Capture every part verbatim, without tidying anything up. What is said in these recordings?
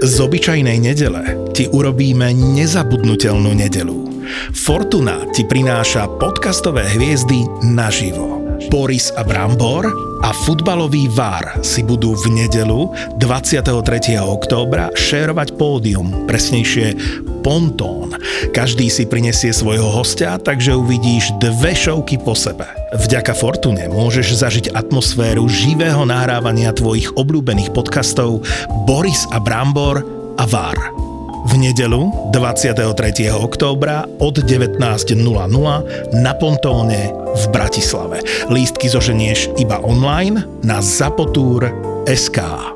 Z obyčajnej nedele ti urobíme nezabudnutelnú nedelu. Fortuna ti prináša podcastové hviezdy naživo. Boris a Brambor a futbalový vár si budú v nedelu dvadsiateho tretieho októbra šérovať pódium, presnejšie pontón. Každý si prinesie svojho hostia, takže uvidíš dve šovky po sebe. Vďaka Fortune môžeš zažiť atmosféru živého nahrávania tvojich obľúbených podcastov Boris a Brambor a vár. V nedeľu dvadsiateho tretieho októbra od devätnásť nula nula na Pontóne v Bratislave. Lístky zoženieš iba online na zapotur bodka es ká.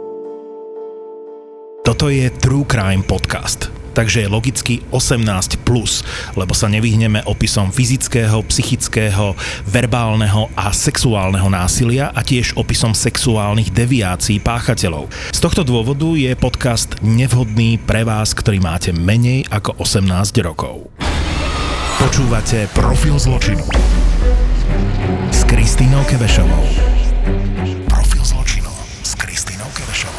Toto je True Crime Podcast, takže je logicky osemnásť plus, lebo sa nevyhneme opisom fyzického, psychického, verbálneho a sexuálneho násilia a tiež opisom sexuálnych deviácií páchateľov. Z tohto dôvodu je podcast nevhodný pre vás, ktorý máte menej ako osemnásť rokov. Počúvate Profil zločinu s Kristínou Kebešovou. Profil zločinu s Kristínou Kebešovou.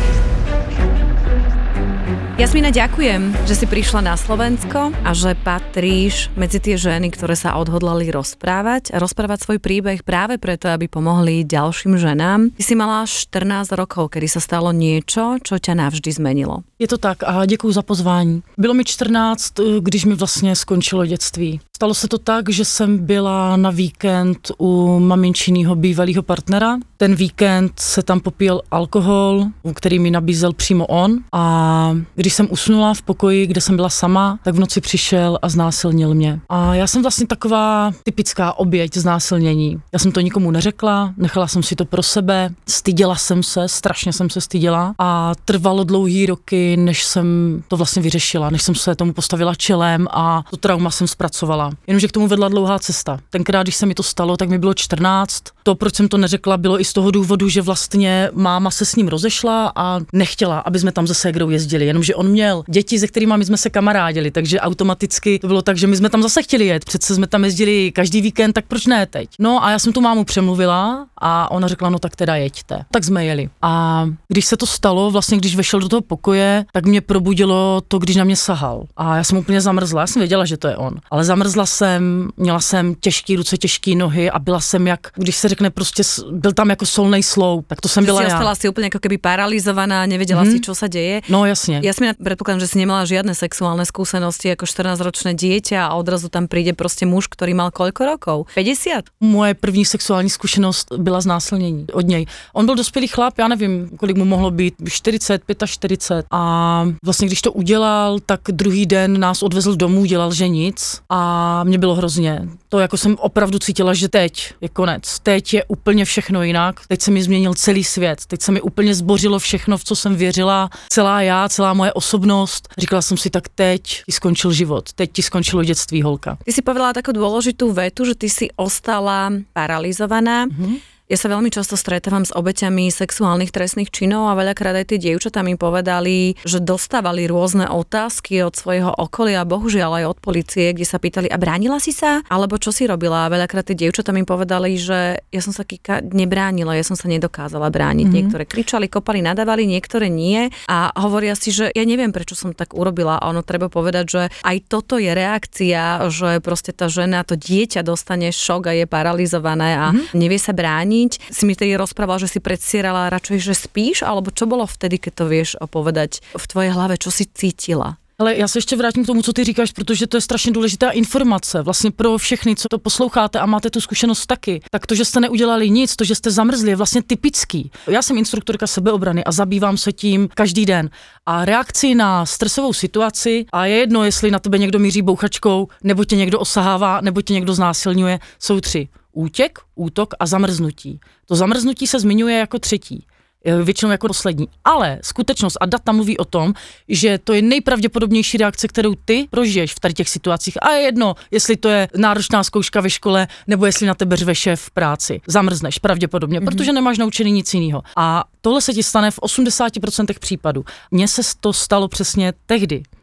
Jasmína, ďakujem, že si prišla na Slovensko a že patríš medzi tie ženy, ktoré sa odhodlali rozprávať a rozprávať svoj príbeh práve preto, aby pomohli ďalším ženám. Ty si mala štrnásť rokov, kedy sa stalo niečo, čo ťa navždy zmenilo. Je to tak a děkuju za pozvání. Bylo mi čtrnáct, když mi vlastně skončilo dětství. Stalo se to tak, že jsem byla na víkend u maminčinýho bývalého partnera. Ten víkend se tam popíjel alkohol, který mi nabízel přímo on, a když jsem usnula v pokoji, kde jsem byla sama, tak v noci přišel a znásilnil mě. A já jsem vlastně taková typická oběť znásilnění. Já jsem to nikomu neřekla, nechala jsem si to pro sebe, styděla jsem se, strašně jsem se styděla a trvalo dlouhý roky, než jsem to vlastně vyřešila, než jsem se tomu postavila čelem a to trauma jsem zpracovala. Jenomže k tomu vedla dlouhá cesta. Tenkrát, když se mi to stalo, tak mi bylo čtrnáct. To, proč jsem to neřekla, bylo i z toho důvodu, že vlastně máma se s ním rozešla a nechtěla, aby jsme tam se ségrou jezdili, jenomže on měl děti, se kterými my jsme se kamarádili, takže automaticky to bylo tak, že my jsme tam zase chtěli jet, přece jsme tam jezdili každý víkend, tak proč ne teď? No a já jsem tu mámu přemluvila a ona řekla, no tak teda jeďte. Tak jsme jeli. A když se to stalo, vlastně když vešel do toho pokoje, tak mě probudilo to, když na mě sahal. A já jsem úplně zamrzla, já jsem věděla, že to je on. Ale zamrzla jsem, měla jsem těžké ruce, těžké nohy a byla jsem jak, když se řekne prostě, byl tam jako solnej sloup, tak to jsem byla já. Si ostala si úplne ako keby paralizovaná, nevedela mm-hmm. si, čo sa deje. No jasne. Jasmína, predpokladám, že si nemala žiadne sexuálne skúsenosti ako štrnásťročné dieťa a odrazu tam príde proste muž, ktorý mal koľko rokov? päťdesiat? Moje první sexuální zkušenost byla znásilnění od něj. On byl dospělý chlap, já nevím, kolik mu mohlo být, čtyřicet, čtyřicet pět. A vlastně když to udělal, tak druhý den nás odvezl domů, dělal, že nic a mě bylo hrozně. To jako jsem opravdu cítila, že teď je konec. Teď je úplně všechno jinak. Teď se mi změnil celý svět. Teď se mi úplně zbořilo všechno, v co jsem věřila. Celá já, celá moje osobnost. Říkala jsem si, tak teď ti skončil život. Teď ti skončilo dětství, holka. Ty si povedala takú dôležitú vetu, že ty si ostala paralizovaná. Mm-hmm. Ja sa veľmi často stretávam s obeťami sexuálnych trestných činov a veľakrát aj tie dievčatá mi povedali, že dostávali rôzne otázky od svojho okolia, bohužiaľ aj od polície, kde sa pýtali, a bránila si sa? Alebo čo si robila? A veľakrát tie dievčatá mi povedali, že ja som sa Kika nebránila, ja som sa nedokázala brániť. Mm-hmm. Niektoré kričali, kopali, nadávali, niektoré nie a hovoria si, že ja neviem, prečo som tak urobila, a ono treba povedať, že aj toto je reakcia, že proste tá žena, to dieťa dostane šok a je paralizované a mm-hmm. nevie sa brániť. Si mi tedy rozprával, že si predstierala radšej, že spíš, alebo čo bolo vtedy, keď to vieš povedať v tvojej hlave, čo si cítila? Ale já se ještě vrátím k tomu, co ty říkáš, protože to je strašně důležitá informace vlastně pro všechny, co to posloucháte a máte tu zkušenost taky. Tak to, že jste neudělali nic, to, že jste zamrzli, je vlastně typický. Já jsem instruktorka sebeobrany a zabývám se tím každý den. A reakci na stresovou situaci, a je jedno, jestli na tebe někdo míří bouchačkou, nebo tě někdo osahává, nebo tě někdo znásilňuje, jsou tři. Útěk, útok a zamrznutí. To zamrznutí se zmiňuje jako třetí. Většinou jako poslední. Ale skutečnost a data mluví o tom, že to je nejpravděpodobnější reakce, kterou ty prožiješ v tady těch situacích. A je jedno, jestli to je náročná zkouška ve škole, nebo jestli na tebe řve šéf v práci. Zamrzneš pravděpodobně, mm-hmm. protože nemáš naučený nic jiného. A tohle se ti stane v osmdesáti procentech případů. Mně se to stalo přesně tehdy,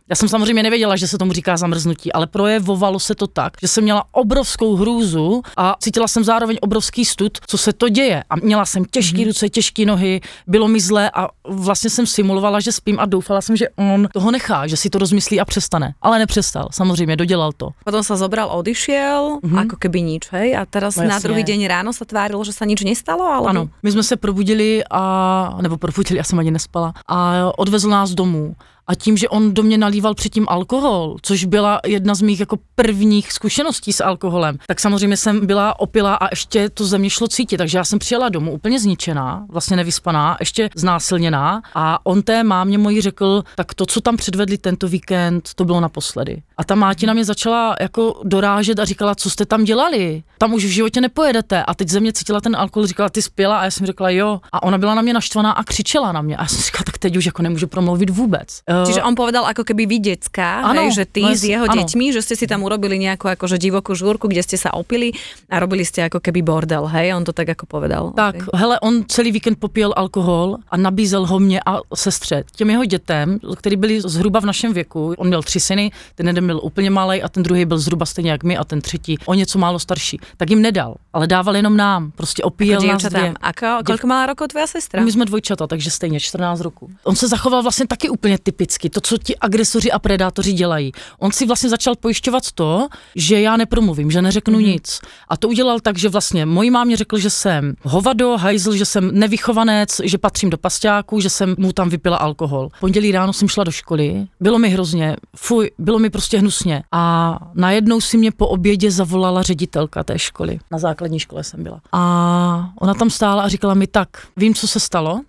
Já jsem samozřejmě nevěděla, že se tomu říká zamrznutí, ale projevovalo se to tak, že jsem měla obrovskou hrůzu a cítila jsem zároveň obrovský stud, co se to děje. A měla jsem těžké ruce, těžké nohy, bylo mi zlé a vlastně jsem simulovala, že spím a doufala jsem, že on toho nechá, že si to rozmyslí a přestane. Ale nepřestal, samozřejmě, dodělal to. Potom sa zobral, odišiel, mm-hmm. ako keby nič, hej? A teraz no, na druhý deň ráno sa tvárilo, že sa nič nestalo? Alebo... Ano, my jsme se probudili a, nebo probudili, já jsem ani nespala, a odvezl nás domů. A tím, že on do mě nalíval předtím alkohol, což byla jedna z mých jako prvních zkušeností s alkoholem, tak samozřejmě jsem byla opilá a ještě to ze mě šlo cítit, takže já jsem přijela domů úplně zničená, vlastně nevyspaná, ještě znásilněná a on té mámě mojí řekl, tak to, co tam předvedli tento víkend, to bylo naposledy. A ta máti na mě začala jako dorážet a říkala, co jste tam dělali, tam už v životě nepojedete. A teď ze mě cítila ten alkohol, říkala, ty spěla a já jsem řekla jo. A ona byla na mě naštvaná a křičela na mě. A já jsem říkala, tak teď už jako nemůžu promluvit vůbec. Čiže on povedal ako keby vy decka, hej, že ty s jeho ano. deťmi, že ste si tam urobili nejakú akože divokú žúrku, kde ste sa opili a robili ste ako keby bordel, hej, on to tak ako povedal. Tak, okay. hele, on celý víkend popíjel alkohol a nabízel ho mě a sestře. Těm jeho dětem, který byli zhruba v našem věku, on měl tři syny, ten jeden byl úplně malej a ten druhý byl zhruba stejně jak my a ten třetí o něco málo starší, tak jim nedal, ale dával jenom nám, prostě opíjel nás dvě. Ako, koľko mala rokov tvoja sestra? My jsme dvojčata, takže stejně čtrnáct roků. On se zachoval vlastně taky úplně typicky, to, co ti agresoři a predátoři dělají. On si vlastně začal pojišťovat to, že já nepromluvím, že neřeknu mm-hmm. nic. A to udělal tak, že vlastně mojí mámě řekl, že jsem hovado, hajzl, že jsem nevychovanec, že patřím do pasťáku, že jsem mu tam vypila alkohol. Pondělí ráno jsem šla do školy, bylo mi hrozně, fuj, bylo mi prostě hnusně. A najednou si mě po obědě zavolala ředitelka té školy. Na základní škole jsem byla. A ona tam stála a říkala mi tak, vím, co se stalo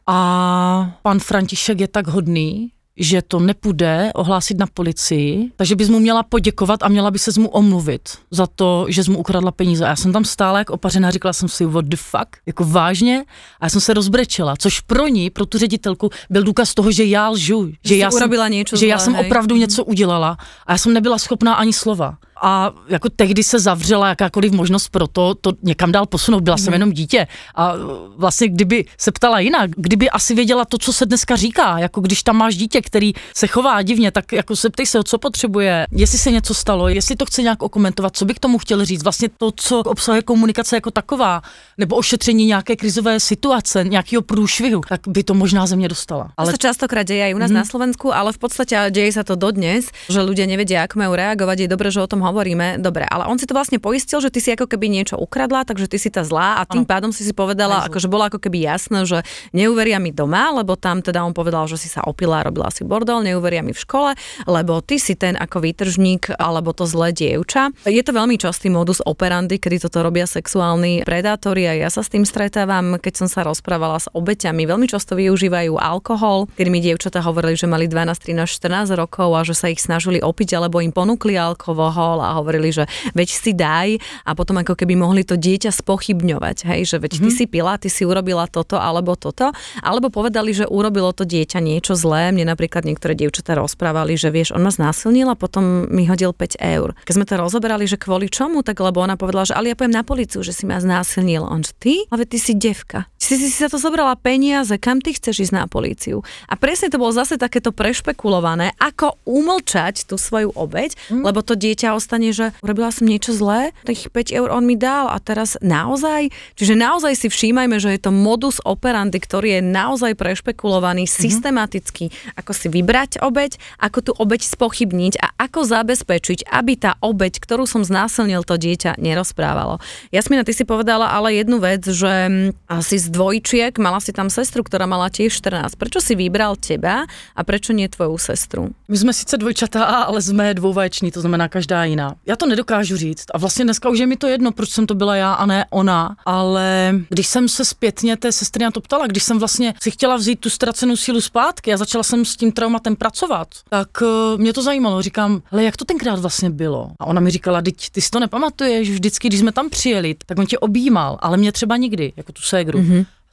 a pan František je tak hodný, že to nepůjde ohlásit na policii, takže bys mu měla poděkovat a měla by se mu omluvit za to, že jsi mu ukradla peníze. A já jsem tam stála jak opařená, říkala jsem si, what the fuck, jako vážně? A já jsem se rozbrečela, což pro ní, pro tu ředitelku, byl důkaz toho, že já lžu, že, já jsem, že zlé, já jsem hej. opravdu něco udělala a já jsem nebyla schopná ani slova. A jako tehdy se zavřela jakákoliv možnost pro to, to někam dál posunout, byla jsem jenom dítě a vlastně kdyby se ptala jinak, kdyby asi věděla to, co se dneska říká, jako když tam máš dítě, který se chová divně, tak jako se ptej se, co potřebuje, jestli se něco stalo, jestli to chce nějak okomentovat, co by k tomu chtěl říct, vlastně to, co obsahuje komunikace jako taková, nebo ošetření nějaké krizové situace, nějakého průšvihu, tak by to možná ze mě dostala. Ale... To sa častokrát deje aj u nás mm-hmm. na Slovensku, ale v podstate deje sa to dodnes, že ľudia nevedia, ako majú reagovať, je dobré, že o tom hovoríme, dobre, ale on si to vlastne poistil, že ty si ako keby niečo ukradla, takže ty si tá zlá a tým ano. Pádom si si povedala, akože bolo ako keby jasné, že neuveria mi doma, lebo tam teda on povedal, že si sa opila a robila si bordel, neuveria mi v škole, lebo ty si ten ako výtržník alebo to zlé dievča. Je to veľmi častý modus operandi, kedy toto robia sexuálni predátori a ja sa s tým stretávam, keď som sa rozprávala s obeťami. Veľmi často využívajú alkohol, kedy mi dievčatá hovorili, že mali dvanásť, trinásť, štrnásť rokov a že sa ich snažili opiť alebo im ponúkli alkohol a hovorili, že veď si daj a potom ako keby mohli to dieťa spochybňovať, hej, že veď ty mm-hmm. si pila, ty si urobila toto alebo toto, alebo povedali, že urobilo to dieťa niečo zlé. Mne napríklad niektoré dievčatá rozprávali, že vieš, on ma znásilnil a potom mi hodil päť eur. Keď sme to rozoberali, že kvôli čomu, tak lebo ona povedala, že ale ja pojem na políciu, že si ma znásilnil. On že ty? Ale ty si devka. Si si, si sa to zobrala peniaze, kam ty chceš ísť na políciu? A presne to bolo zase takéto prešpekulované, ako umlčať tú svoju obeť, mm. lebo to dieťa ostane, že urobila som niečo zlé, tých päť eur on mi dal a teraz naozaj, čiže naozaj si všímajme, že je to modus operandi, ktorý je naozaj prešpekulovaný, mm-hmm. systematicky, ako si vybrať obeť, ako tú obeť spochybniť a ako zabezpečiť, aby tá obeť, ktorú som znásilnil, to dieťa nerozprávalo. Jasmina, ty si povedala ale jednu vec, že si z dvojčiek, mala si tam sestru, ktorá mala tiež štrnásť. Prečo si vybral teba a prečo nie tvoju sestru? My jsme sice dvojčatá, ale jsme dvouvaječní, to znamená každá jiná. Já to nedokážu říct a vlastně dneska už je mi to jedno, proč jsem to byla já a ne ona, ale když jsem se zpětně té sestry na to ptala, když jsem vlastně si chtěla vzít tu ztracenou sílu zpátky a začala jsem s tím traumatem pracovat, tak uh, mě to zajímalo. Říkám, hele, jak to tenkrát vlastně bylo? A ona mi říkala, teď ty si to nepamatuješ, vždycky, když jsme tam přijeli, tak on tě objímal, ale mě třeba nikdy, jako tu ségru. Mm-hmm.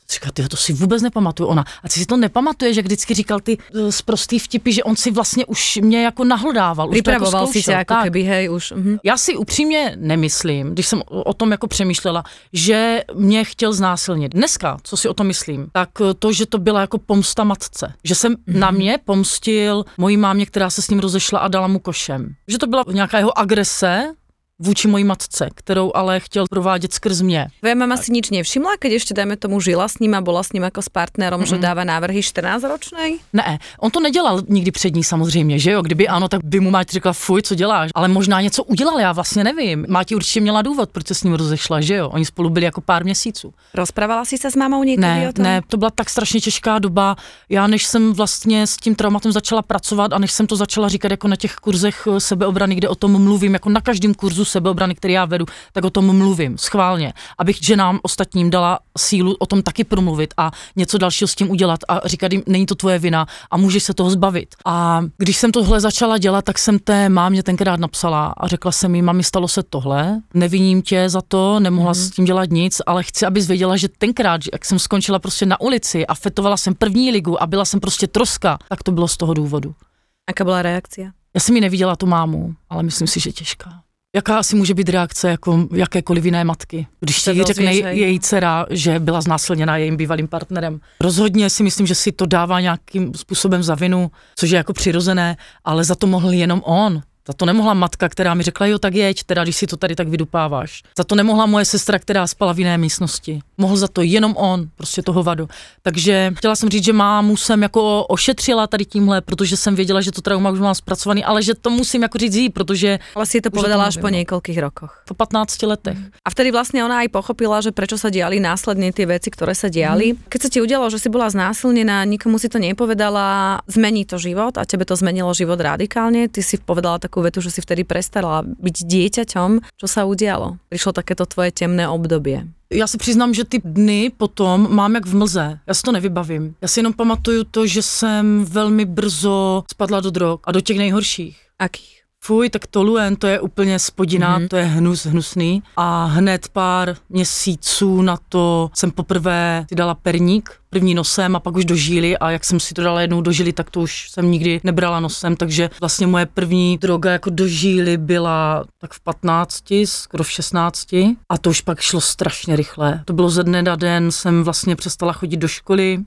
Říká, ty to si vůbec nepamatuju. Ona, a ty si to nepamatuješ, jak vždycky říkal ty sprostý vtipy, že on si vlastně už mě jako nahlodával. Připravoval jako si tě jako keby, hej, už. Mhm. Já si upřímně nemyslím, když jsem o tom jako přemýšlela, že mě chtěl znásilnit. Dneska, co si o tom myslím, tak to, že to byla jako pomsta matce. Že jsem mhm. na mě pomstil mojí mámě, která se s ním rozešla a dala mu košem. Že to byla nějaká jeho agrese vůči mojí matce, kterou ale chtěl provádět skrz mě. Tvoja mama si nič nevšimla, keď ešte dajme tomu žila s ním a bola s ním jako s partnerom, mm-hmm. že dáva návrhy čtrnáctiročnej? Ne, on to nedělal nikdy před ní samozřejmě, že jo? Kdyby ano, tak by mu máť řekla, fuj, co děláš? Ale možná něco udělal, já vlastně nevím. Máti určitě měla důvod, proč se s ním rozešla, že jo? Oni spolu byli jako pár měsíců. Rozprávala si se s mámou někdy ne, o tom? Ne, to byla tak strašně těžká doba. Já než jsem vlastně s tím traumatem začala pracovat a než jsem to začala říkat jako na těch kurzech sebeobrany, kde o tom mluvím, jako na každém kurzu sebeobrany, který já vedu, tak o tom mluvím schválně, abych ženám ostatním dala sílu o tom taky promluvit a něco dalšího s tím udělat a říkat jim, není to tvoje vina a můžeš se toho zbavit. A když jsem tohle začala dělat, tak jsem té mámě tenkrát napsala a řekla jsem jí, mami, stalo se tohle, neviním tě za to, nemohla mm. s tím dělat nic, ale chci, abys věděla, že tenkrát, jak jsem skončila prostě na ulici a fetovala jsem první ligu a byla jsem prostě troska, tak to bylo z toho důvodu. Jaká byla reakce? Já jsem ji neviděla tu mámu, ale myslím si, že těžká. Jaká asi může být reakce jako jakékoliv jiné matky, když ti řekne její dcera, že byla znásilněna jejím bývalým partnerem. Rozhodně si myslím, že si to dává nějakým způsobem za vinu, což je jako přirozené, ale za to mohl jenom on. Za to nemohla matka, která mi řekla, jo, tak jeď, teda, když si to tady tak vydupáváš. Za to nemohla moje sestra, která spala v jiné místnosti. Mohl za to jenom on, prostě toho vadu. Takže chtěla jsem říct, že mámu jsem jako ošetřila tady tímhle, protože jsem věděla, že to trauma už mám zpracovaný, ale že to musím jako říct jí, protože... Ale si to povedala až po niekoľkých rokoch. Po patnácti letech. A vtedy vlastne ona aj pochopila, že prečo sa diali následne tie veci, ktoré sa diali. Mm. Keď sa ti udialo, že si bola znásilnená, nikomu si to nepovedala, zmení to život a tebe to zmenilo život radikálne. Ty si povedala takú vetu, že si vtedy prestala byť dieťaťom. Čo sa udialo? Prišlo takéto tvoje temné obdobie. Já si přiznám, že ty dny potom mám jak v mlze. Já si to nevybavím. Já si jenom pamatuju to, že jsem velmi brzo spadla do drog a do těch nejhorších. Akých? Fuj, tak toluen, to je úplně spodina, mm-hmm. to je hnus, hnusný. A hned pár měsíců na to jsem poprvé si dala perník, první nosem a pak už do žíly a jak jsem si to dala jednou do žíly, tak to už jsem nikdy nebrala nosem, takže vlastně moje první droga jako do žíly byla tak v patnácti, skoro v šestnácti a to už pak šlo strašně rychle. To bylo ze dne na den, jsem vlastně přestala chodit do školy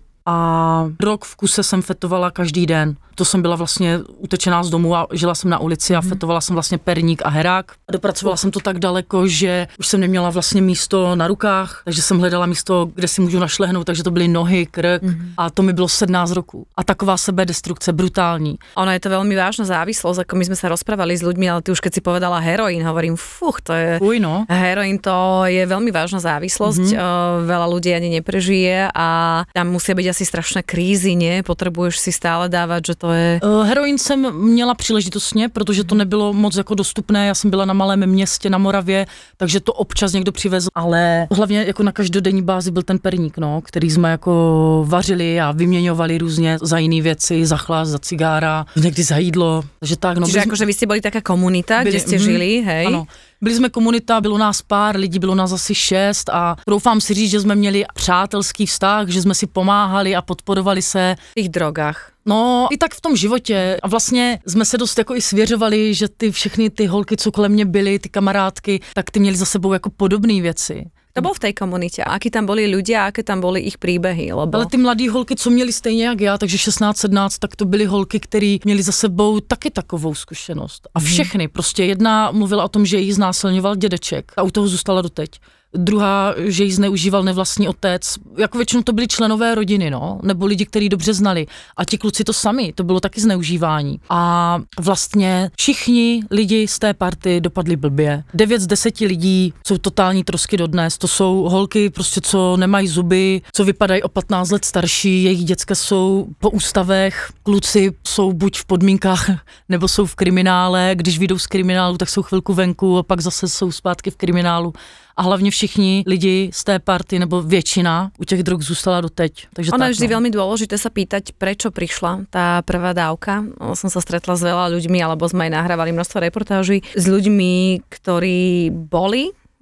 a rok v kuse jsem fetovala každý den. To jsem byla vlastně utečená z domu a žila jsem na ulici a fetovala jsem vlastně perník a herák. A dopracovala jsem to tak daleko, že už jsem neměla vlastně místo na rukách, takže jsem hledala místo, kde si můžu našlehnout, takže to byly nohy, krk mm-hmm. a to mi bylo sedmnáct roků. A taková sebedestrukce, brutální. Ono je to veľmi vážna závislosť, ako my sme sa rozprávali s ľuďmi, ale ty už keď si povedala heroín, hovorím, fuch, to je... Uj, no. Heroín to je veľmi vážna závislosť, mm-hmm. veľa ľudí ani neprežije a tam musia byť asi strašné krízy, nie? Potrebuješ si stále dávať, že to je... Uh, heroin jsem měla příležitostně, protože to nebylo moc jako dostupné, já jsem byla na malém městě na Moravě, takže to občas někdo přivezl, ale hlavně jako na každodenní bázi byl ten perník, no, který jsme jako vařili a vyměňovali různě za jiné věci, za chlás, za cigára, někdy za jídlo, takže tak. No, Čiže akože vy ste boli taká komunita, byli, kde ste mm, žili, hej? Ano. Byli jsme komunita, bylo nás pár lidí, bylo nás asi šest a doufám si říct, že jsme měli přátelský vztah, že jsme si pomáhali a podporovali se. V těch drogách. No, i tak v tom životě a vlastně jsme se dost jako i svěřovali, že ty všechny ty holky, co kolem mě byly, ty kamarádky, tak ty měly za sebou jako podobné věci. To bol v tej komunite. A akí tam boli ľudia, aké tam boli ich príbehy? Lebo... Ale ty mladý holky, co měli stejně jak já, takže šestnáct sedmnáct, tak to byly holky, které měly za sebou taky takovou zkušenost. A všechny, hmm. prostě jedna mluvila o tom, že jí znásilňoval dědeček a u toho zůstala doteď. Druhá, že ji zneužíval nevlastní otec. Jako většinou to byly členové rodiny, no, nebo lidi, kteří dobře znali. A ti kluci to sami, to bylo taky zneužívání. A vlastně všichni lidi z té party dopadli blbě. Devět z deseti lidí jsou totální trosky dodnes. To jsou holky, prostě co nemají zuby, co vypadají o patnáct let starší, jejich děcka jsou po ústavech, kluci jsou buď v podmínkách, nebo jsou v kriminále. Když vyjdou z kriminálu, tak jsou chvilku venku a pak zase jsou zpátky v kriminálu. A hlavně všichni lidi z té party, nebo většina u těch drog zůstala doteď. Takže ono tak, je vždy no. veľmi dôležité sa pýtať, prečo prišla tá prvá dávka. Som sa stretla s veľa ľuďmi, alebo sme aj nahrávali množstvo reportáží s ľuďmi, ktorí boli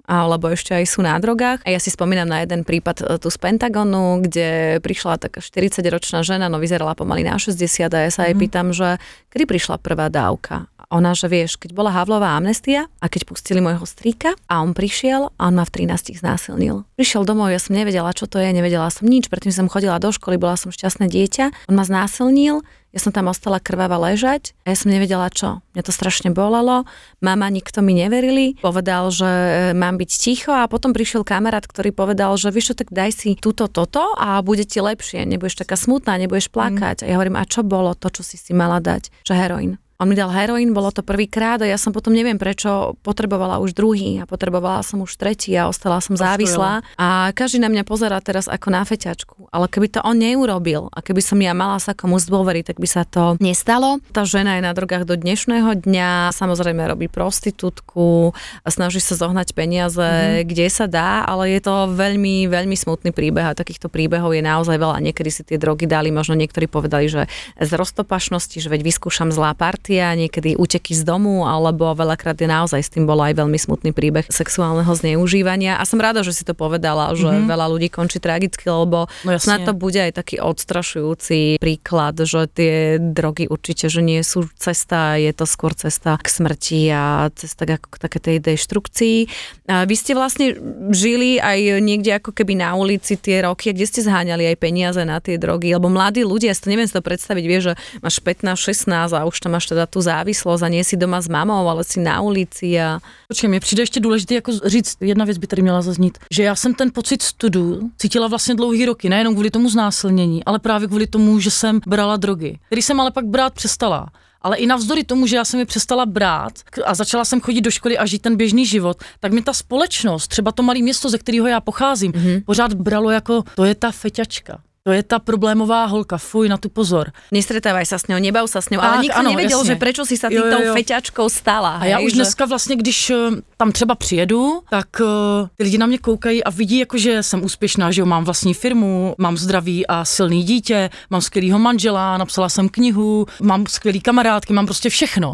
alebo ešte aj sú na drogách. A ja si spomínam na jeden prípad tu z Pentagonu, kde prišla taká štyridsaťročná žena, no vyzerala pomaly na šesťdesiat a ja sa jej mm. pýtam, že kedy prišla prvá dávka. Ona, že vieš, keď bola Havlová amnestia a keď pustili môjho strýka a on prišiel a on ma v trinástich znásilnil. Prišiel domov, ja som nevedela, čo to je, nevedela som nič, predtým som chodila do školy, bola som šťastné dieťa. On ma znásilnil, ja som tam ostala krvava ležať a ja som nevedela čo. Mňa to strašne bolelo, mama, nikto mi neverili, povedal, že mám byť ticho a potom prišiel kamarát, ktorý povedal, že vieš čo, tak daj si túto, toto a bude ti lepšie, nebudeš taká smutná, nebudeš plakať. Mm. A ja hovorím, a čo bolo to, čo si si mala dať? Že heroín. On mi dal heroín, bolo to prvýkrát a ja som potom neviem prečo potrebovala už druhý a potrebovala som už tretí a ostala som závislá. A každý na mňa pozerá teraz ako na feťačku. Ale keby to on neurobil a keby som ja mala sa komu zdôveriť, tak by sa to nestalo. Tá žena je na drogách do dnešného dňa, samozrejme robí prostitútku, snaží sa zohnať peniaze, mm-hmm. kde sa dá, ale je to veľmi, veľmi smutný príbeh a takýchto príbehov je naozaj veľa. Niekedy si tie drogy dali, možno niektorí povedali, že z roztopašnosti, že veď vyskúšam zlá partia, niekedy úteky z domu, alebo veľakrát je naozaj s tým bol aj veľmi smutný príbeh sexuálneho zneužívania. A som rada, že si to povedala, že mm-hmm. veľa ľudí končí tragicky, lebo no snad to bude aj taký odstrašujúci príklad, že tie drogy určite, že nie sú cesta, je to skôr cesta k smrti a cesta k také tej deštrukcii. A vy ste vlastne žili aj niekde ako keby na ulici tie roky, kde ste zháňali aj peniaze na tie drogy, lebo mladí ľudia, ja si to neviem si to predstaviť, vieš, že máš pätnásť šestnásť a už tam máš teda tú závislosť a nie si doma s mamou, ale si na ulici a... Počkej, mně přijde ještě důležité jako říct, jedna věc by tady měla zaznít, že já jsem ten pocit studu cítila vlastně dlouhý roky, nejenom kvůli tomu znásilnění, ale právě kvůli tomu, že jsem brala drogy, který jsem ale pak brát přestala. Ale i navzdory tomu, že já jsem je přestala brát a začala jsem chodit do školy a žít ten běžný život, tak mi ta společnost, třeba to malé město, ze kterého já pocházím, mm-hmm. pořád bralo jako, to je ta feťačka. To je tá problémová holka, fuj, na tu pozor. Nestretávaj sa s ňou, nebav sa s ňou, ale nikto ano, nevedel, jasne. Že prečo si sa týmto feťačkou stala. A hej, já už že... dneska vlastně, když tam třeba přijedu, tak uh, ty lidi na mě koukají a vidí, jako, že jsem úspěšná, že jo, mám vlastní firmu, mám zdravý a silný dítě, mám skvělýho manžela, napsala jsem knihu, mám skvělý kamarádky, mám prostě všechno.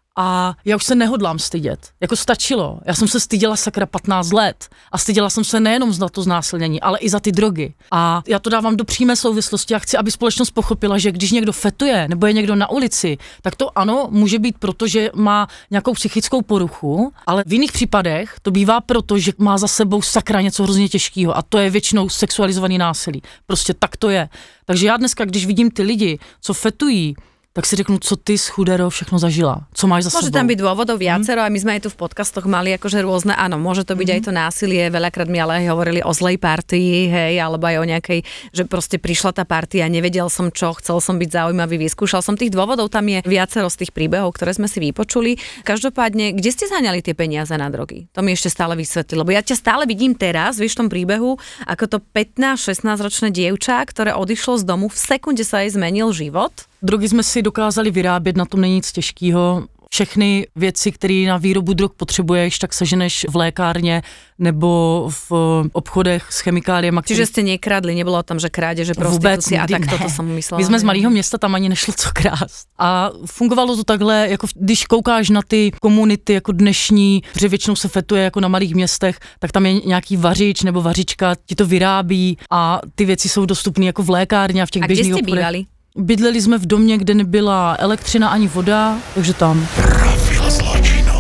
A já už se nehodlám stydět. Jako stačilo. Já jsem se styděla sakra patnáct let. A styděla jsem se nejenom za to znásilnění, ale i za ty drogy. A já to dávám do přímé souvislosti. Já chci, aby společnost pochopila, že když někdo fetuje nebo je někdo na ulici, tak to ano, může být proto, že má nějakou psychickou poruchu, ale v jiných případech to bývá proto, že má za sebou sakra něco hrozně těžkého. A to je většinou sexualizovaný násilí. Prostě tak to je. Takže já dneska, když vidím ty lidi, co fetují, tak si řeknu, co ty schudero všechno zažila, co máš za môže sebou. Môže tam byť dôvodov viacero mm. a my sme aj tu v podcastoch mali akože rôzne, áno, môže to byť mm. aj to násilie, veľakrát mi ale aj hovorili o zlej partii, hej, alebo aj o nejakej, že proste prišla tá partia, nevedel som čo, chcel som byť zaujímavý, vyskúšal som tých dôvodov, tam je viacero z tých príbehov, ktoré sme si vypočuli. Každopádne, kde ste zháňali tie peniaze na drogy? To mi ešte stále vysvetli, lebo ja ťa stále vidím teraz, vieš, v tom príbehu, ako to pätnásť šestnásť ročné dievča, ktoré odišlo z domu, v sekunde sa jej zmenil život. Drogy jsme si dokázali vyrábět, na tom není nic těžkýho. Všechny věci, které na výrobu drog potřebuješ, tak seženeš v lékárně nebo v obchodech s chemikáliemi. Čiže ste nekradli, nebylo tam, že krádeže, prostitúcia a tak toto som myslela. My jsme z malého města, tam ani nešlo co krást. A fungovalo to takhle, jako když koukáš na ty komunity jako dnešní, protože většinou se fetuje jako na malých městech, tak tam je nějaký vařič nebo vařička, ti to vyrábí a ty věci jsou dostupné jako v lékárně a v těch běžných obchodech. A kde ste bývali? Bydleli jsme v domě, kde nebyla elektřina ani voda, takže tam. Profil zločinu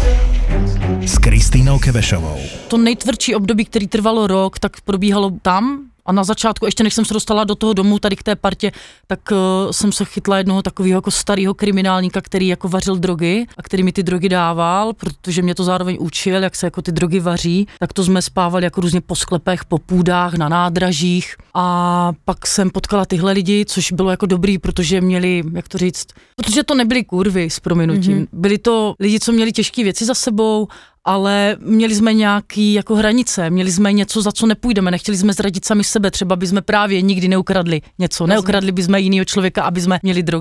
s Kristínou Kevešovou. To nejtvrdší období, který trvalo rok, tak probíhalo tam. A na začátku, ještě než jsem se dostala do toho domu, tady k té partě, tak uh, jsem se chytla jednoho takového jako starého kriminálníka, který jako vařil drogy a který mi ty drogy dával, protože mě to zároveň učil, jak se jako ty drogy vaří. Tak to jsme spávali jako různě po sklepech, po půdách, na nádražích. A pak jsem potkala tyhle lidi, což bylo jako dobrý, protože měli, jak to říct, protože to nebyli kurvy s prominutím. Mm-hmm. Byli to lidi, co měli těžké věci za sebou, ale měli jsme nějaký jako hranice, měli jsme něco, za co nepůjdeme, nechtěli jsme zradit sami sebe, třeba by jsme právě nikdy neukradli něco, neukradli by jsme jinýho člověka, aby jsme měli drogy.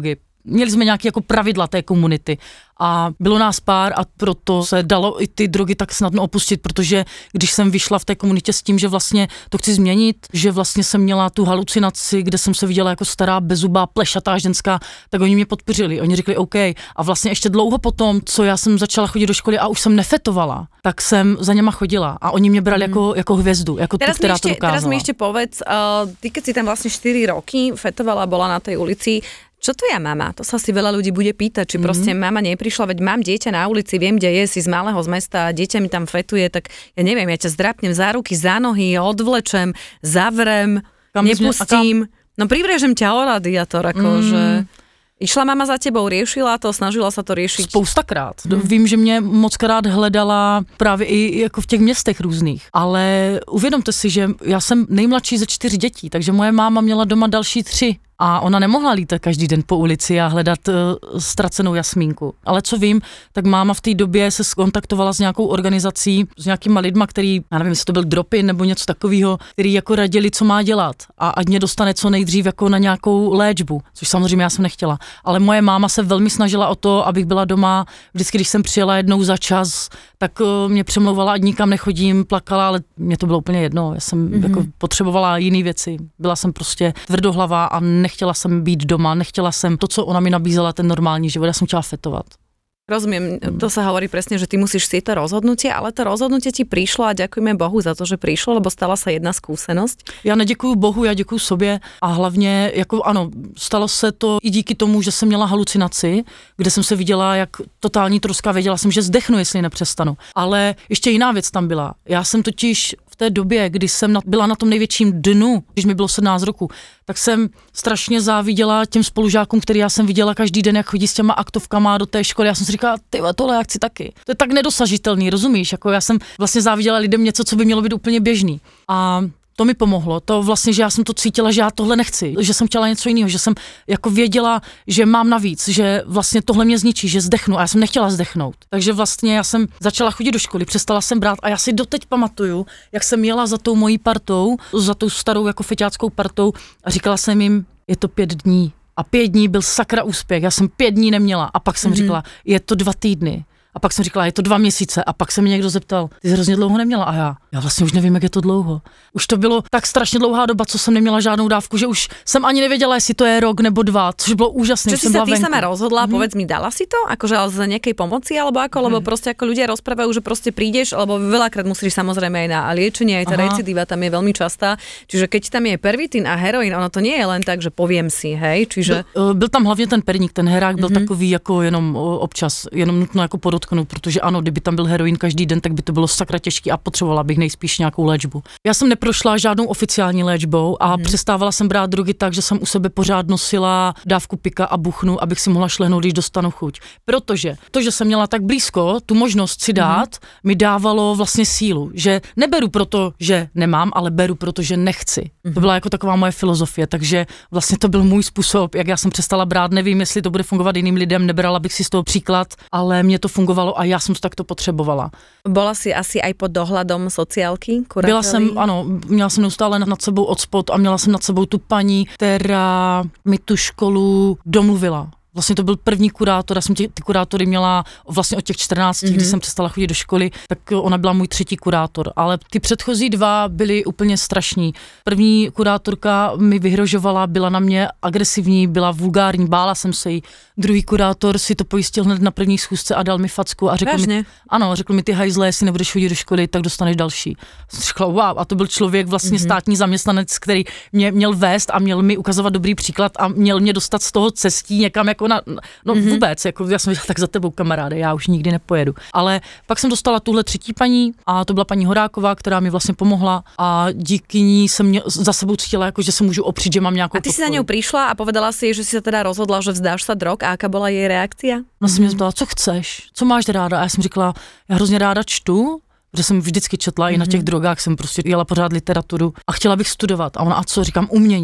měli jsme nějaké jako pravidla té komunity a bylo nás pár a proto se dalo i ty drogy tak snadno opustit, protože když jsem vyšla v té komunitě s tím, že vlastně to chci změnit, že vlastně jsem měla tu halucinaci, kde jsem se viděla jako stará bezubá plešatá ženská, tak oni mě podpořili, oni řekli OK a vlastně ještě dlouho potom, co já jsem začala chodit do školy a už jsem nefetovala, tak jsem za něma chodila a oni mě brali mm. jako, jako hvězdu, jako teraz tu, která ešte, to dokázala. Teraz mi ešte povedz, uh, ty keď si tam vlastne štyri roky fetovala, bola na tej ulici, čo to je mama? To sa si veľa ľudí bude pýtať, či mm-hmm. proste mama neprišla, veď mám dieťa na ulici, viem, kde je, si z malého z mesta, dieťa mi tam fetuje, tak ja neviem, ja ťa zdrapnem za ruky, za nohy, odvlečem, zavrem, kam nepustím, no privrežem ťa o radiátor, akože... Mm. Išla mama za tebou, riešila to, snažila sa to riešiť? Spoustakrát. Hmm. Vím, že mě mockrát hledala právě i jako v těch městech různých, ale uvědomte si, že já jsem nejmladší ze čtyř dětí, takže moje máma měla doma další tři. A ona nemohla lítat každý den po ulici a hledat uh, ztracenou Jasmínku. Ale co vím, tak máma v té době se skontaktovala s nějakou organizací, s nějakýma lidma, který, já nevím, jestli to byl Dropin nebo něco takového, který jako radili, co má dělat a ať mě dostane co nejdřív jako na nějakou léčbu, což samozřejmě já jsem nechtěla. Ale moje máma se velmi snažila o to, abych byla doma. Vždycky, když jsem přijela jednou za čas, tak uh, mě přemlouvala, ať nikam nechodím, plakala, ale mě to bylo úplně jedno. Já jsem mm-hmm. jako potřebovala jiné věci. Byla jsem prostě tvrdohlavá a nechtěla jsem být doma, nechtěla jsem to, co ona mi nabízela, ten normální život, ja som chtěla fetovat. Rozumiem, to sa hovorí presne, že ty musíš si to rozhodnutie, ale to rozhodnutie ti prišlo a ďakujeme Bohu za to, že prišlo, lebo stala sa jedna skúsenosť. Já neděkuju Bohu, já děkuju sobě a hlavně, jako ano, stalo se to i díky tomu, že jsem měla halucinaci, kde jsem se viděla jak totální troska, věděla jsem, že zdechnu, jestli nepřestanu. Ale ještě jiná věc tam byla. Já jsem totiž v té době, kdy jsem na, byla na tom největším dnu, když mi bylo sedmnáct roku, tak jsem strašně záviděla těm spolužákům, který já jsem viděla každý den, jak chodí s těma aktovkama do té školy. Já jsem si říkala, ty tohle já chci taky. To je tak nedosažitelný, rozumíš? Jako já jsem vlastně záviděla lidem něco, co by mělo být úplně běžný. A to mi pomohlo, to vlastně, že já jsem to cítila, že já tohle nechci, že jsem chtěla něco jiného, že jsem jako věděla, že mám navíc, že vlastně tohle mě zničí, že zdechnu a já jsem nechtěla zdechnout. Takže vlastně já jsem začala chodit do školy, přestala jsem brát a já si doteď pamatuju, jak jsem jela za tou mojí partou, za tou starou jako feťáckou partou a říkala jsem jim, je to pět dní. A pět dní byl sakra úspěch, já jsem pět dní neměla a pak jsem mm-hmm. říkala, je to dva týdny. A pak jsem říkala, je to dva měsíce a pak se mi někdo zeptal, ty jsi hrozně dlouho neměla a já, já vlastně už nevím, jak je to dlouho. Už to bylo tak strašně dlouhá doba, co jsem neměla žádnou dávku, že už jsem ani nevěděla, jestli to je rok nebo dva, což bylo úžasné. Čo si sa ty sama rozhodla, mm-hmm. povedz mi, dala si to? Akože ale za nejakej pomoci alebo ako? Mm-hmm. Lebo proste ako ľudia rozprávajú, že proste prídeš, lebo veľakrát musíš samozrejme aj na liečenie, aj tá recidíva tam je veľmi častá. Čiže keď tam je pervitín a heroin, ono to nie je len tak, že poviem si, hej, čiže... Byl, byl tam hlavně ten perník, ten herák byl mm-hmm. takový jako jenom občas, jenom nutno jako podotknout, protože ano, kdyby tam byl heroin každý den, tak by to bylo sakra těžký a potřebovala bych nejspíš nějakou léčbu. Já jsem neprošla žádnou oficiální léčbou a hmm. přestávala jsem brát drogy tak, že jsem u sebe pořád nosila dávku pika a buchnu, abych si mohla šlehnout, když dostanu chuť. Protože to, že jsem měla tak blízko tu možnost si dát, hmm. mi dávalo vlastně sílu, že neberu proto, že nemám, ale beru proto, že nechci. Hmm. To byla jako taková moje filozofie, takže vlastně to byl můj způsob, jak já jsem přestala brát, nevím, jestli to bude fungovat jiným lidem, nebrala bych si z toho příklad, ale mně to fungovalo a já jsem to takto potřebovala. Bola si asi aj pod dohľadom sociálky, kurátory? Byla jsem, ano, měla jsem neustále nad sebou odspod a měla jsem nad sebou tu paní, která mi tu školu domluvila. Vlastně to byl první kurátor, já jsem tě, ty kurátory měla vlastně od těch čtrnácti, mm-hmm. když jsem přestala chodit do školy, tak ona byla můj třetí kurátor, ale ty předchozí dva byly úplně strašní. První kurátorka mi vyhrožovala, byla na mě agresivní, byla vulgární, bála jsem se jí. Druhý kurátor si to pojistil hned na první schůzce a dal mi facku a řekl Vážně? mi, ano, řekl mi, ty hajzle, jestli nebudeš chodit do školy, tak dostaneš další. Jsem řekla, wow, a to byl člověk, vlastně mm-hmm. státní zaměstnanec, který mě měl vést a měl mi ukazovat dobrý příklad a měl mě dostat z toho cestí někam jako na, no mm-hmm. vůbec, jako já jsem říkala, tak za tebou kamaráde, já už nikdy nepojedu. Ale pak jsem dostala tuhle třetí paní a to byla paní Horáková, která mi vlastně pomohla a díky ní jsem mě za sebou cítila, jako že se můžu opřít, že mám nějakou A ty podporu. si za ňou prišla a povedala si, že si sa teda rozhodla, že vzdáš sa drog a aká bola jej reakcia? Ona se mě zeptala, co chceš, co máš ráda a já jsem říkala, já hrozně ráda čtu, že jsem vždycky četla, mm-hmm. i na těch drogách jsem prostě jela pořád literaturu a chtěla bych studovat. A ona, a co, říkám, umění.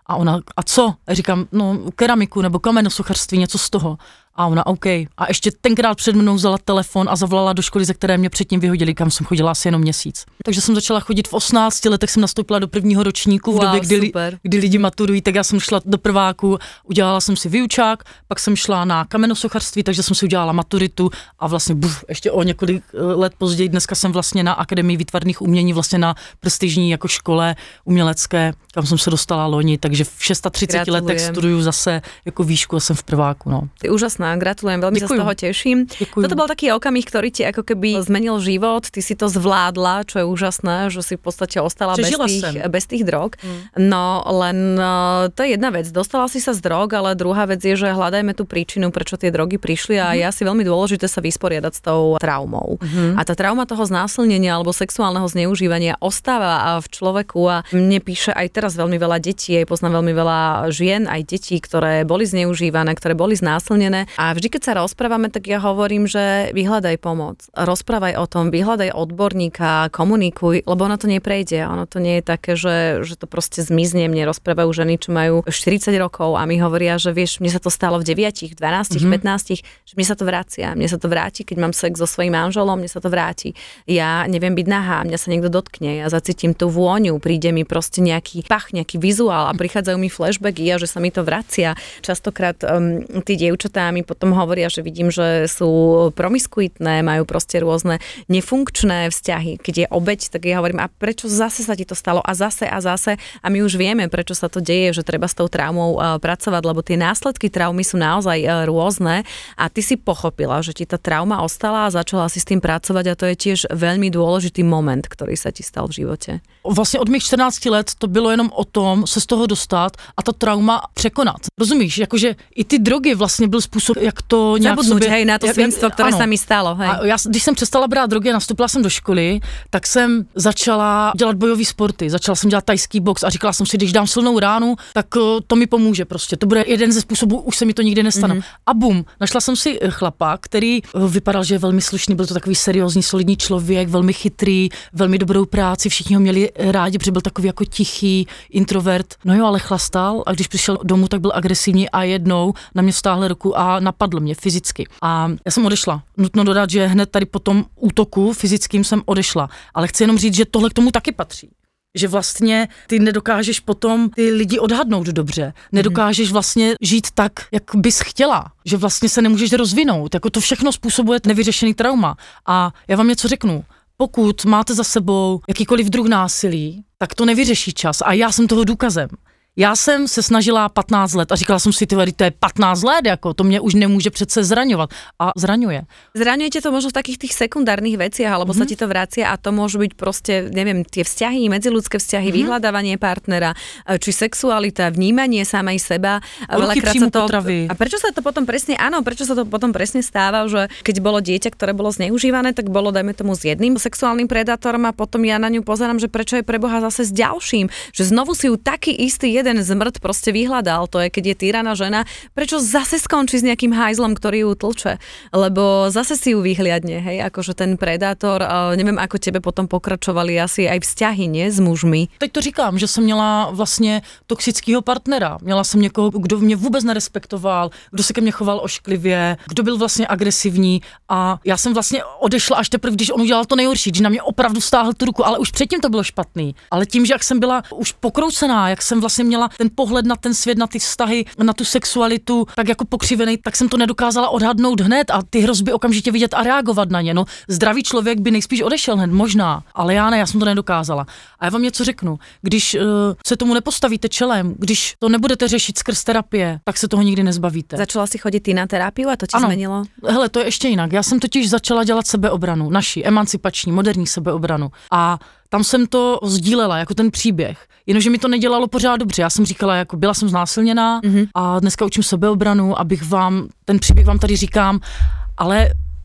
A ona, a co? A říkám, no keramiku nebo kamenosochařství, něco z toho. A ona, OK. A ještě tenkrát před mnou vzala telefon a zavolala do školy, ze které mě předtím vyhodili, kam jsem chodila asi jenom měsíc. Takže jsem začala chodit v osmnácti letech, jsem nastoupila do prvního ročníku v wow, době, kdy, kdy lidi maturují, tak já jsem šla do prváku, udělala jsem si výučák, pak jsem šla na kamenosochařství, takže jsem si udělala maturitu a vlastně buf, ještě o několik let později, dneska jsem vlastně na Akademii výtvarných umění, vlastně na prestižní jako škole umělecké, kam jsem se dostala loni, takže v třiceti šesti letech studuju zase jako výšku a jsem v prváku. No. Ty úžasná, gratulujem, veľmi Ďakujem. Sa z toho teším. Ďakujem. Toto bol taký okamih, ktorý ti ako keby zmenil život, ty si to zvládla, čo je úžasné, že si v podstate ostala bez tých, bez tých drog. Mm. No len to je jedna vec, dostala si sa z drog, ale druhá vec je, že hľadajme tú príčinu, prečo tie drogy prišli a mm. je asi veľmi dôležité sa vysporiadať s tou traumou. Mm. A tá trauma toho znásilnenia alebo sexuálneho zneužívania ostáva v človeku a mne píše aj teraz veľmi veľa detí, aj poznám veľmi veľa žien, aj detí, ktoré boli zneužívané, ktoré boli znásilnené. A vždy, keď sa rozprávame, tak ja hovorím, že vyhľadaj pomoc. Rozprávaj o tom, vyhľadaj odborníka, komunikuj, lebo ono to neprejde. Ono to nie je také, že, že to proste zmizne. Mne rozprávajú ženy, čo majú štyridsať rokov a mi hovoria, že vieš, mne sa to stalo v deviatich, dvanástich, mm-hmm. pätnástich, že mne sa to vracia. Mne sa to vráti, keď mám sex so svojím manželom, mne sa to vráti. Ja neviem byť nahá, mňa sa niekto dotkne, ja zacítim tú vôňu, príde mi proste nejaký pach, nejaký vizuál a prichádzajú mi flashbacky a že sa mi to vracia. Častokrát um, tí dievčatá mi potom hovoria, že vidím, že sú promiskuitné, majú proste rôzne nefunkčné vzťahy. Keď je obeť, tak ja hovorím, a prečo zase sa ti to stalo? A zase a zase. A my už vieme, prečo sa to deje, že treba s tou traumou uh, pracovať, lebo tie následky traumy sú naozaj uh, rôzne a ty si pochopila, že ti tá trauma ostala a začala si s tým pracovať a to je tiež veľmi dôležitý moment, ktorý sa ti stal v živote. Vlastně od mých čtrnácti let to bylo jenom o tom se z toho dostat a ta trauma překonat. Rozumíš? Jakože i ty drogy vlastně byl způsob, jak to nějak zabudnúť, sobě... hej, na to svinstvo, které ano. sa mi stalo, hej. A já, když jsem přestala brát drogy a nastoupila jsem do školy, tak jsem začala dělat bojové sporty, začala jsem dělat tajský box a říkala jsem si, když dám silnou ránu, tak to mi pomůže prostě. To bude jeden ze způsobů, už se mi to nikdy nestane. Mm-hmm. A bum, našla jsem si chlapa, který vypadal, že je velmi slušný, byl to takový seriózní, solidní člověk, velmi chytrý, velmi dobrou práci, všichni ho měli rádi, protože byl takový jako tichý introvert. No jo, ale chlastal a když přišel domů, tak byl agresivní a jednou na mě vstáhl ruku a napadl mě fyzicky. A já jsem odešla. Nutno dodat, že hned tady po tom útoku fyzickým jsem odešla. Ale chci jenom říct, že tohle k tomu taky patří. Že vlastně ty nedokážeš potom ty lidi odhadnout dobře. Nedokážeš vlastně žít tak, jak bys chtěla. Že vlastně se nemůžeš rozvinout. Jako to všechno způsobuje nevyřešený trauma. A já vám něco řeknu. Pokud máte za sebou jakýkoliv druh násilí, tak to nevyřeší čas. A já jsem toho důkazem. Já jsem se snažila patnáct let a říkala jsem si, ty to je patnáct let, jako to mě už nemůže přece zraňovat. A zraňuje. Zraňuje tě to možno v takých tých sekundárnych veciach, alebo mm-hmm. sa ti to vracia a to môžu byť proste, neviem, tie vzťahy, medziludské vzťahy, mm-hmm. vyhľadávanie partnera, či sexualita, vnímanie samej seba. Veľakrát sa to... potravy. A prečo sa to potom presne, áno, prečo sa to potom presne stáva, že keď bolo dieťa, ktoré bolo zneužívané, tak bolo, dajme tomu, s jedným sexuálnym predátorom a potom ja na ňu pozerám, že prečo je pre Boha zase s ďalším, že znovu si ju taký istý jeden zmrt proste vyhľadal, to je, keď je týraná žena, prečo zase skončí s nejakým hajzlom, ktorý ju tlče, lebo zase si ju vyhliadne, hej, akože ten predátor, neviem, ako tebe potom pokračovali asi aj vzťahy, nie, s mužmi. Teď to říkám, že jsem měla vlastně toxického partnera, měla jsem někoho, kdo mě vůbec nerespektoval, kdo se ke mně choval ošklivě, kdo byl vlastně agresivní a já jsem vlastně odešla až teprve, když on udělal to nejhorší, když na mě opravdu stáhl tu ruku, ale už předtím to bylo špatný, ale tím, že jak jsem byla už pokroucená, jak jsem vlastně měla ten pohled na ten svět, na ty vztahy, na tu sexualitu, tak jako pokřivený, tak jsem to nedokázala odhadnout hned a ty hrozby okamžitě vidět a reagovat na ně. No, zdravý člověk by nejspíš odešel hned, možná, ale já ne, já jsem to nedokázala. A já vám něco řeknu, když uh, se tomu nepostavíte čelem, když to nebudete řešit skrz terapie, tak se toho nikdy nezbavíte. Začala si chodit ty na terapii a to ti ano. Zmenilo? Hele, to je ještě jinak. Já jsem totiž začala dělat sebeobranu, naši emancipační, moderní sebeobranu. A tam jsem to sdílela, jako ten příběh. Jenomže mi to nedělalo pořád dobře. Já jsem říkala, jako byla jsem znásilněná mm-hmm. a dneska učím sebeobranu, abych vám, ten příběh vám tady říkám, ale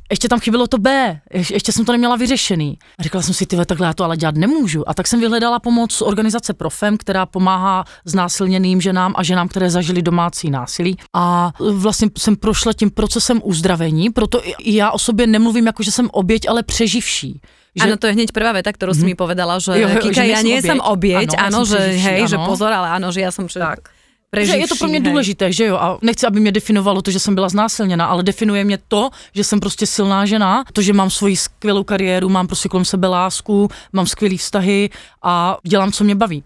ještě tam chybělo to B, Ješ, ještě jsem to neměla vyřešený. A říkala jsem si, tyhle, takhle já to ale dělat nemůžu. A tak jsem vyhledala pomoc organizace Profem, která pomáhá znásilněným ženám a ženám, které zažily domácí násilí. A vlastně jsem prošla tím procesem uzdravení, proto i já o sobě nemluvím jako, že jsem oběť, ale přeživší. Že... Áno, to je hneď prvá veta, ktorú mm-hmm. si mi povedala, že, jo, jo, Kika, že ja nie som obieť, áno, že hej, že pozor, ale áno, že ja som pre... preživší. Že je to pro mě hej. důležité, že jo, a nechci, aby mě definovalo to, že jsem byla znásilněna, ale definuje mě to, že jsem prostě silná žena, to, že mám svoji skvělou kariéru, mám prostě kolem sebe lásku, mám skvělý vztahy a dělám, co mě baví.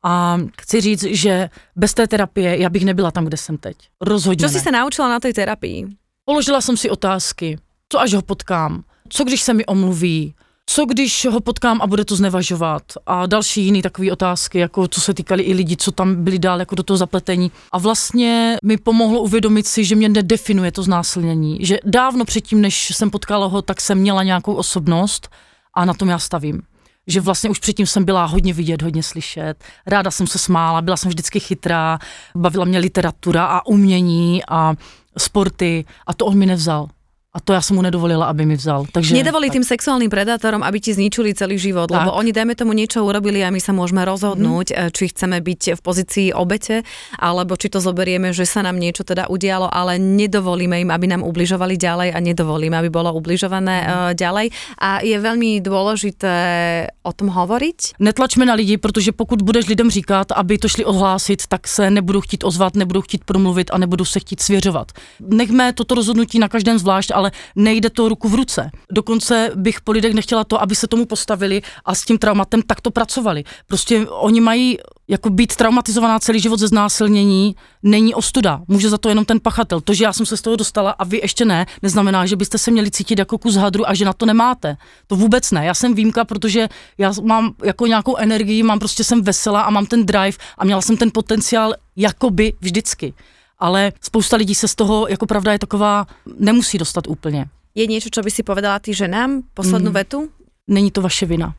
A chci říct, že bez té terapie já bych nebyla tam, kde jsem teď. Rozhodně. Co jsi se naučila na té terapii? Položila jsem si otázky. Co až ho potkám? Co když se mi omluví? Co když ho potkám a bude to znevažovat? A další jiný takové otázky, jako co se týkaly i lidí, co tam byli dál jako do toho zapletení. A vlastně mi pomohlo uvědomit si, že mě nedefinuje to znásilnění. Že dávno předtím, než jsem potkala ho, tak jsem měla nějakou osobnost a na tom já stavím. Že vlastně už předtím jsem byla hodně vidět, hodně slyšet. Ráda jsem se smála, byla jsem vždycky chytrá, bavila mě literatura a umění a sporty a to on mi nevzal. A to ja som mu nedovolila, aby mi vzal. Takže, Nedovolí tak. tým sexuálnym predátorom, aby ti zničili celý život, tak. lebo oni, dajme tomu, niečo urobili a my sa môžeme rozhodnúť, mm. či chceme byť v pozícii obete, alebo či to zoberieme, že sa nám niečo teda udialo, ale nedovolíme im, aby nám ubližovali ďalej a nedovolíme, aby bolo ubližované mm. uh, ďalej. A je veľmi dôležité o tom hovoriť. Netlačme na lidi, protože pokud budeš lidem říkat, aby to šli ohlásit, tak se nebudou chtít ozvat, nebudou chtít promluvit a nebudou se chtít svěřovat. Nechme toto rozhodnutí na každém zvlášť, ale nejde to ruku v ruce. Dokonce bych po lidech nechtěla to, aby se tomu postavili a s tím traumatem takto pracovali. Prostě oni mají jako být traumatizovaná celý život ze znásilnění, není ostuda. Může za to jenom ten pachatel. To, že já jsem se z toho dostala a vy ještě ne, neznamená, že byste se měli cítit jako kus hadru a že na to nemáte. To vůbec ne. Já jsem výjimka, protože já mám jako nějakou energii, mám prostě jsem veselá a mám ten drive a měla jsem ten potenciál jakoby vždycky. Ale spousta lidí se z toho, jako pravda je taková, nemusí dostat úplně. Je niečo, čo by si povedala ty ženám? Poslednú mm. vetu? Není to vaše vina.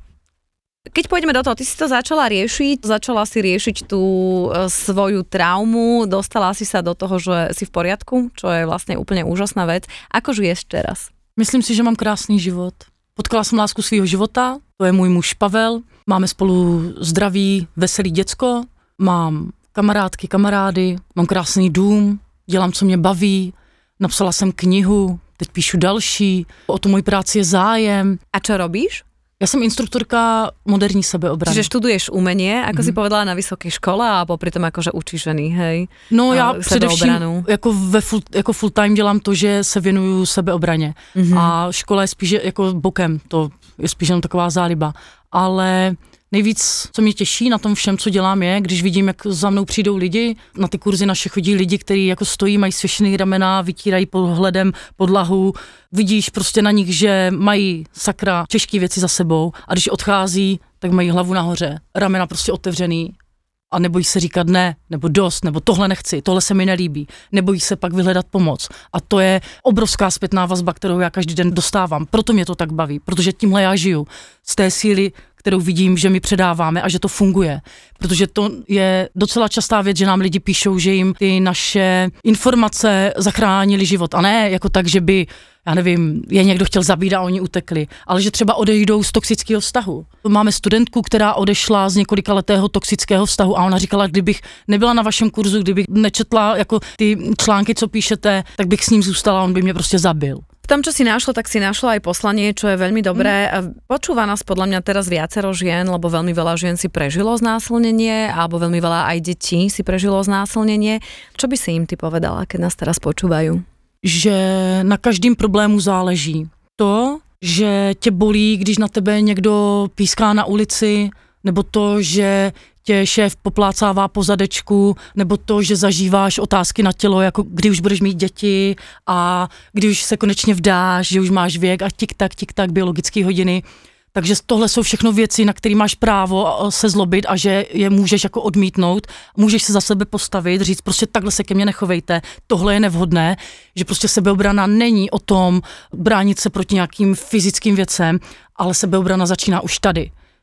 Keď pôjdeme do toho, ty si to začala riešiť, začala si riešiť tú e, svoju traumu, dostala si sa do toho, že si v poriadku, čo je vlastne úplne úžasná vec. Ako žiješ teraz? Myslím si, že mám krásný život. Potkala jsem lásku svýho života, to je můj muž Pavel, máme spolu zdravý, veselý děcko, mám kamarádky, kamarády, mám krásný dům, dělám, co mě baví, napsala jsem knihu, teď píšu další, o tu moji práci je zájem. A čo robíš? Ja som instruktorka moderní sebeobrany. Čiže študuješ umenie, ako mm-hmm. si povedala, na vysokej škole a popri tom akože učíš ženy, hej? No já především jako, ve full, jako full time dělám to, že se věnuju sebeobraně. Mm-hmm. A škola je spíš jako bokem, to je spíš jenom taková záliba. Ale nejvíc, co mě těší na tom všem, co dělám, je, když vidím, jak za mnou přijdou lidi, na ty kurzy naše chodí lidi, kteří jako stojí, mají svěšený ramena, vytírají pohledem podlahu, vidíš prostě na nich, že mají sakra těžké věci za sebou a když odchází, tak mají hlavu nahoře, ramena prostě otevřený a nebojí se říkat ne, nebo dost, nebo tohle nechci, tohle se mi nelíbí, nebojí se pak vyhledat pomoc. A to je obrovská zpětná vazba, kterou já každý den dostávám, proto mě to tak baví, protože tímhle já žiju, z té síly, kterou vidím, že my předáváme a že to funguje. Protože to je docela častá věc, že nám lidi píšou, že jim ty naše informace zachránily život. A ne jako tak, že by, já nevím, je někdo chtěl zabít a oni utekli, ale že třeba odejdou z toxického vztahu. Máme studentku, která odešla z několika letého toxického vztahu a ona říkala, kdybych nebyla na vašem kurzu, kdybych nečetla jako ty články, co píšete, tak bych s ním zůstala, on by mě prostě zabil. V tom, čo si našla, tak si našla aj poslanie, čo je veľmi dobré. Mm. Počúva nás podľa mňa teraz viacero žien, lebo veľmi veľa žien si prežilo znásilnenie, alebo veľmi veľa aj detí si prežilo znásilnenie. Čo by si im ty povedala, keď nás teraz počúvajú? Že na každým problému záleží. To, že tě bolí, když na tebe někdo píská na ulici, nebo to, že tě šéf poplácává po zadečku, nebo to, že zažíváš otázky na tělo, jako kdy už budeš mít děti a kdy už se konečně vdáš, že už máš věk a tik-tak, tik-tak, biologické hodiny. Takže tohle jsou všechno věci, na které máš právo se zlobit a že je můžeš jako odmítnout, můžeš se za sebe postavit, říct prostě takhle se ke mně nechovejte, tohle je nevhodné, že prostě sebeobrana není o tom bránit se proti nějakým fyzickým věcem, ale sebeobrana začíná už tady.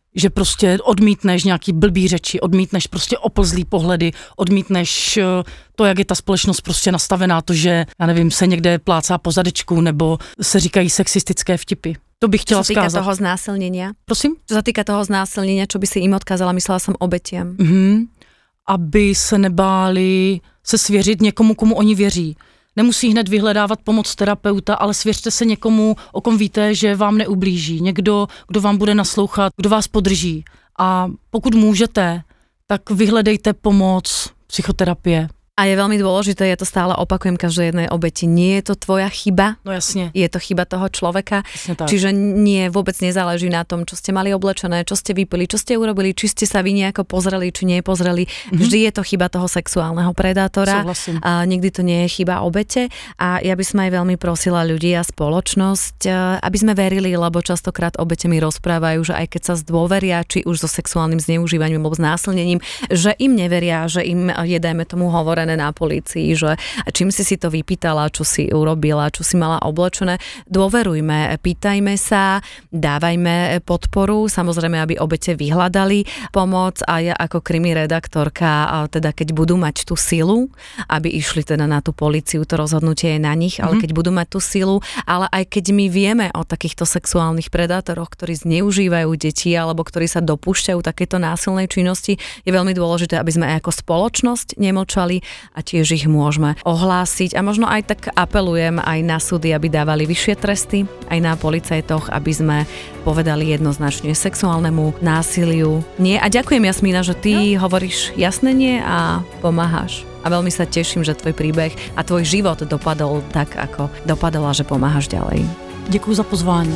že prostě odmítneš nějaký blbý řeči, odmítneš prostě oplzlý pohledy, odmítneš to, jak je ta společnost prostě nastavená, to, že, já nevím, se někde plácá po zadečku, nebo se říkají sexistické vtipy. To bych chtěla skázat. Čo sa týka toho znásilnenia? Prosím? Čo sa týka toho znásilnenia, čo by si im odkázala, myslela som obetiam. Mhm. Aby se nebáli se svěřit někomu, komu oni věří. Nemusí hned vyhledávat pomoc terapeuta, ale svěřte se někomu, o kom víte, že vám neublíží. Někdo, kdo vám bude naslouchat, kdo vás podrží. A pokud můžete, tak vyhledejte pomoc psychoterapie. A je veľmi dôležité, ja to stále opakujem každej jednej obeti, nie je to tvoja chyba, no jasne. Je to chyba toho človeka, čiže nie, vôbec nezáleží na tom, čo ste mali oblečené, čo ste vypili, čo ste urobili, či ste sa vy nejako pozreli, či nepozreli, mm-hmm. vždy je to chyba toho sexuálneho predátora, a nikdy to nie je chyba obete a ja by som aj veľmi prosila ľudí a spoločnosť, aby sme verili, lebo častokrát obete mi rozprávajú, že aj keď sa zdôveria, či už so sexuálnym zneužívaním alebo znásilnením, že im neveria, že im je, dajme tomu, hovorené na polícii, že čím si si to vypýtala, čo si urobila, čo si mala oblečené. Dôverujme, pýtajme sa, dávajme podporu, samozrejme, aby obete vyhľadali pomoc a ja ako krimi redaktorka, teda keď budú mať tú silu, aby išli teda na tú políciu, to rozhodnutie je na nich, ale mm-hmm. keď budú mať tú silu, ale aj keď my vieme o takýchto sexuálnych predátoroch, ktorí zneužívajú deti alebo ktorí sa dopúšťajú takéto násilnej činnosti, je veľmi dôležité, aby sme aj ako spoločnosť nemlčali a tiež ich môžeme ohlásiť a možno aj tak apelujem aj na súdy, aby dávali vyššie tresty, aj na policajtoch, aby sme povedali jednoznačne sexuálnemu násiliu nie. A ďakujem, Jasmína, že ty no. hovoríš jasné nie a pomáhaš. A veľmi sa teším, že tvoj príbeh a tvoj život dopadol tak, ako dopadol a že pomáhaš ďalej. Ďakujem za pozvání.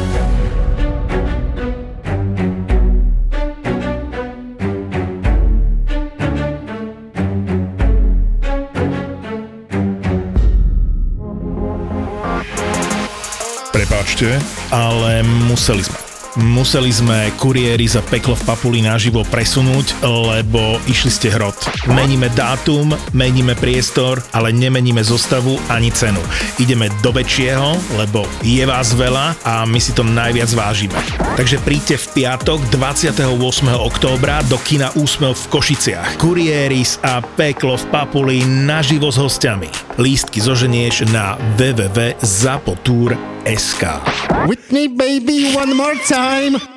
Prepáčte, ale museli sme. Museli sme kuriéri za Peklo v Papuli naživo presunúť, lebo išli ste hrot. Meníme dátum, meníme priestor, ale nemeníme zostavu ani cenu. Ideme do väčšieho, lebo je vás veľa a my si to najviac vážime. Takže príďte v piatok dvadsiateho ôsmeho októbra do kina Úsmev v Košiciach. Kurieris a Peklo v Papuli naživo s hostiami. Lístky zoženieš na w w w bodka zapotur bodka es ká. With me, baby, one more time.